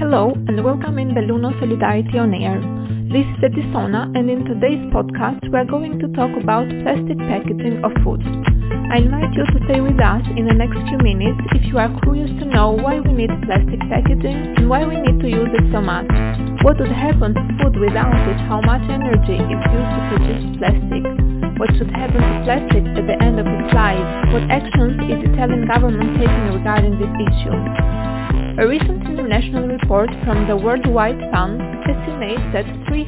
Hello and welcome in Belluno Solidarity on Air. This is Edisona, and in today's podcast we are going to talk about plastic packaging of food. I invite you to stay with us in the next few minutes if you are curious to know why we need plastic packaging and why we need to use it so much. What would happen to food without it? How much energy is used to produce plastic? What should happen to plastic at the end of its life? What actions is the Italian government taking regarding this issue? A recent international report from the World Wide Fund estimates that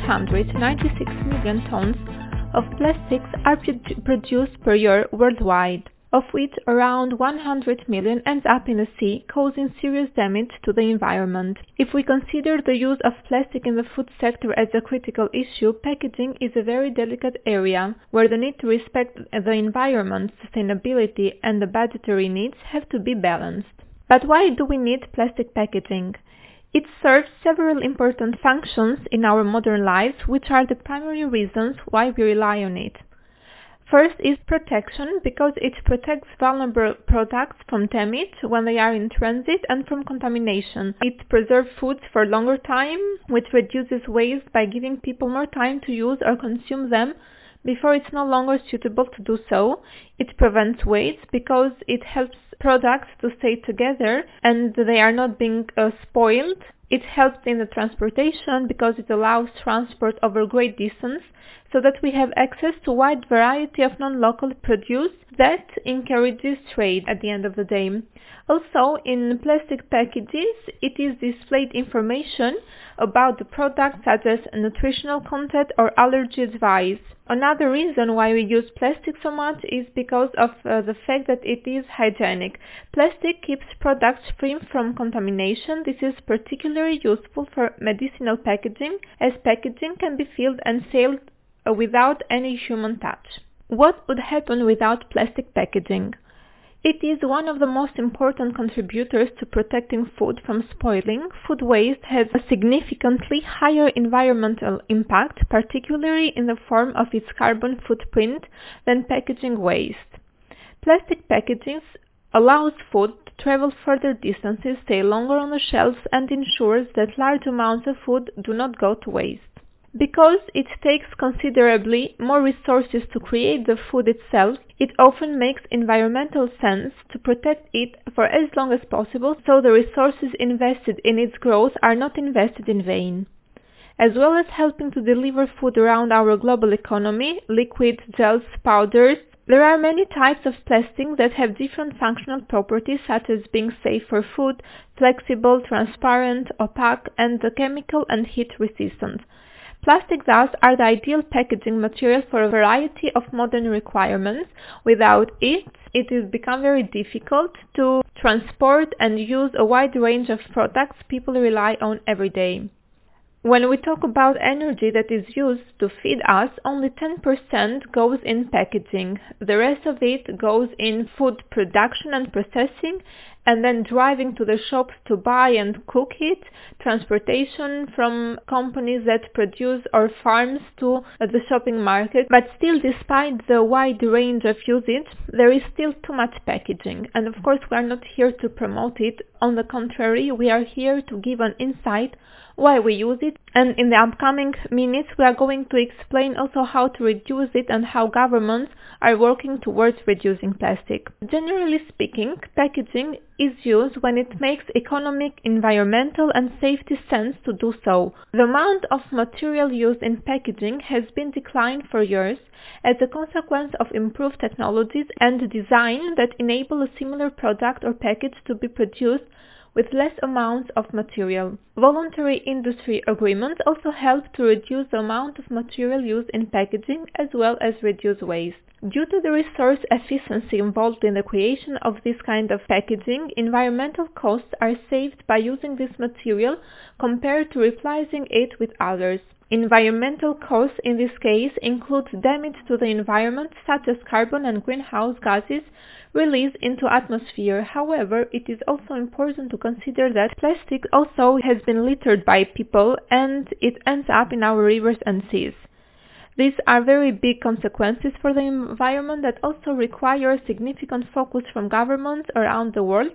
396 million tons of plastics are produced per year worldwide, of which around 100 million ends up in the sea, causing serious damage to the environment. If we consider the use of plastic in the food sector as a critical issue, packaging is a very delicate area, where the need to respect the environment, sustainability and the budgetary needs have to be balanced. But why do we need plastic packaging? It serves several important functions in our modern lives, which are the primary reasons why we rely on it. First is protection, because it protects vulnerable products from damage when they are in transit and from contamination. It preserves foods for a longer time, which reduces waste by giving people more time to use or consume them before it's no longer suitable to do so. It prevents waste because it helps products to stay together and they are not being spoiled. It helps in the transportation because it allows transport over great distance so that we have access to a wide variety of non-local produce that encourages trade at the end of the day. Also, in plastic packages, it is displayed information about the product such as nutritional content or allergy advice. Another reason why we use plastic so much is because of the fact that it is hygienic. Plastic keeps products free from contamination. This is particularly useful for medicinal packaging, as packaging can be filled and sealed without any human touch. What would happen without plastic packaging? It is one of the most important contributors to protecting food from spoiling. Food waste has a significantly higher environmental impact, particularly in the form of its carbon footprint, than packaging waste. Plastic packaging allows food to travel further distances, stay longer on the shelves, and ensures that large amounts of food do not go to waste. Because it takes considerably more resources to create the food itself, it often makes environmental sense to protect it for as long as possible, so the resources invested in its growth are not invested in vain. As well as helping to deliver food around our global economy, liquids, gels, powders, there are many types of plastic that have different functional properties, such as being safe for food, flexible, transparent, opaque, and chemical and heat resistant. Plastic thus are the ideal packaging material for a variety of modern requirements. Without it, it will become very difficult to transport and use a wide range of products people rely on every day. When we talk about energy that is used to feed us, only 10% goes in packaging. The rest of it goes in food production and processing, and then driving to the shops to buy and cook it, transportation from companies that produce or farms to the shopping market. But still, despite the wide range of usage, there is still too much packaging. And of course, we are not here to promote it. On the contrary, we are here to give an insight why we use it, and in the upcoming minutes we are going to explain also how to reduce it and how governments are working towards reducing plastic. Generally speaking, packaging is used when it makes economic, environmental and safety sense to do so. The amount of material used in packaging has been declined for years as a consequence of improved technologies and design that enable a similar product or package to be produced with less amounts of material. Voluntary industry agreements also help to reduce the amount of material used in packaging as well as reduce waste. Due to the resource efficiency involved in the creation of this kind of packaging, environmental costs are saved by using this material compared to replacing it with others. Environmental costs in this case include damage to the environment such as carbon and greenhouse gases released into atmosphere. However, it is also important to consider that plastic also has been littered by people and it ends up in our rivers and seas. These are very big consequences for the environment that also require significant focus from governments around the world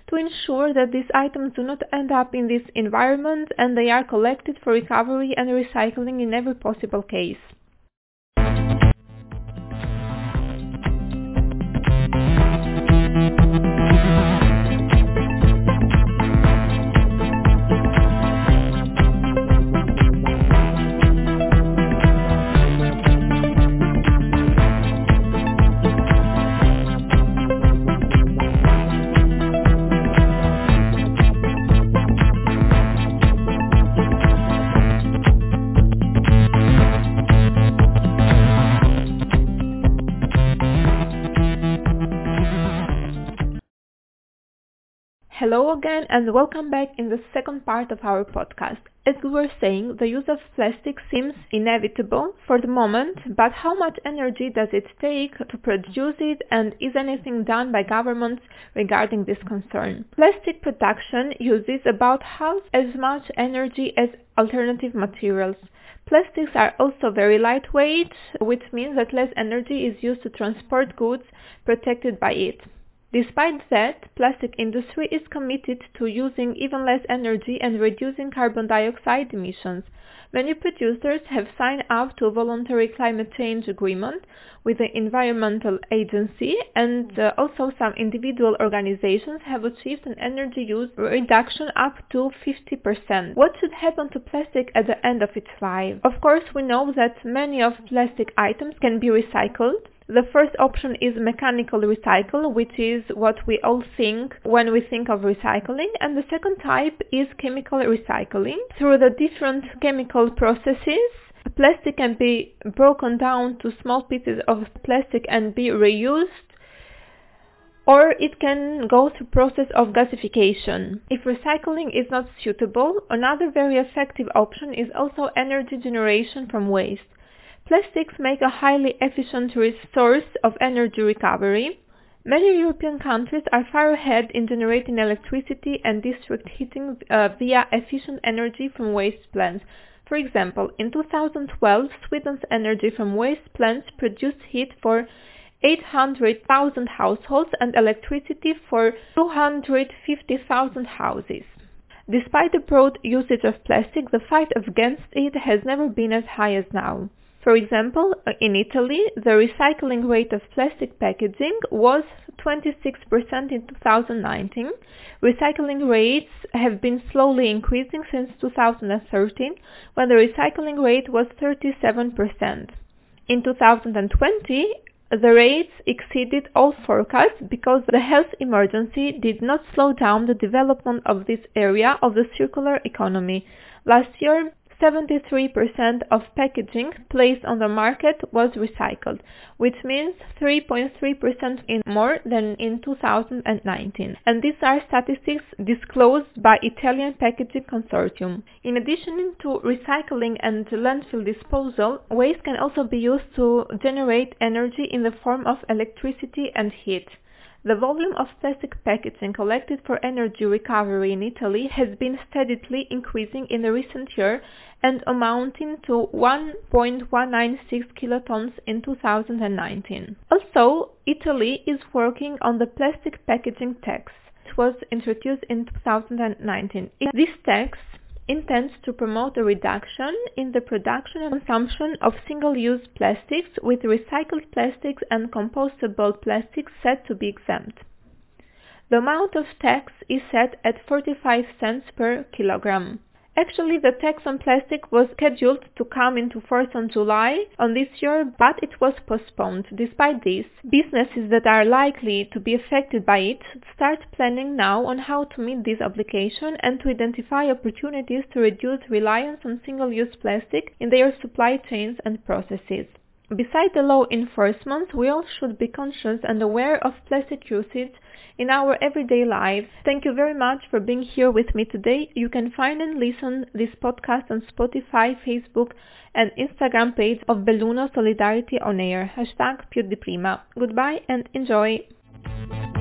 to ensure that these items do not end up in this environment and they are collected for recovery and recycling in every possible case. Hello again and welcome back in the second part of our podcast. As we were saying, the use of plastic seems inevitable for the moment, but how much energy does it take to produce it, and is anything done by governments regarding this concern? Plastic production uses about half as much energy as alternative materials. Plastics are also very lightweight, which means that less energy is used to transport goods protected by it. Despite that, plastic industry is committed to using even less energy and reducing carbon dioxide emissions. Many producers have signed up to a voluntary climate change agreement with the Environmental Agency, and also some individual organizations have achieved an energy use reduction up to 50%. What should happen to plastic at the end of its life? Of course, we know that many of plastic items can be recycled. The first option is mechanical recycle, which is what we all think when we think of recycling, and the second type is chemical recycling. Through the different chemical processes, plastic can be broken down to small pieces of plastic and be reused, or it can go through process of gasification. If recycling is not suitable, another very effective option is also energy generation from waste. Plastics make a highly efficient source of energy recovery. Many European countries are far ahead in generating electricity and district heating via efficient energy from waste plants. For example, in 2012, Sweden's energy from waste plants produced heat for 800,000 households and electricity for 250,000 houses. Despite the broad usage of plastic, the fight against it has never been as high as now. For example, in Italy, the recycling rate of plastic packaging was 26% in 2019. Recycling rates have been slowly increasing since 2013, when the recycling rate was 37%. In 2020, the rates exceeded all forecasts because the health emergency did not slow down the development of this area of the circular economy. Last year, 73% of packaging placed on the market was recycled, which means 3.3% more than in 2019. And these are statistics disclosed by Italian Packaging Consortium. In addition to recycling and landfill disposal, waste can also be used to generate energy in the form of electricity and heat. The volume of plastic packaging collected for energy recovery in Italy has been steadily increasing in the recent year and amounting to 1.196 kilotons in 2019. Also, Italy is working on the plastic packaging tax, which was introduced in 2019. This tax intends to promote a reduction in the production and consumption of single-use plastics, with recycled plastics and compostable plastics set to be exempt. The amount of tax is set at 45 cents per kilogram. Actually, the tax on plastic was scheduled to come into force on July on this year, but it was postponed. Despite this, businesses that are likely to be affected by it should start planning now on how to meet this obligation and to identify opportunities to reduce reliance on single-use plastic in their supply chains and processes. Besides the law enforcement, we all should be conscious and aware of plastic usage in our everyday lives. Thank you very much for being here with me today. You can find and listen this podcast on Spotify, Facebook and Instagram page of Belluno Solidarity On Air. #PiuDiPrima. Goodbye and enjoy.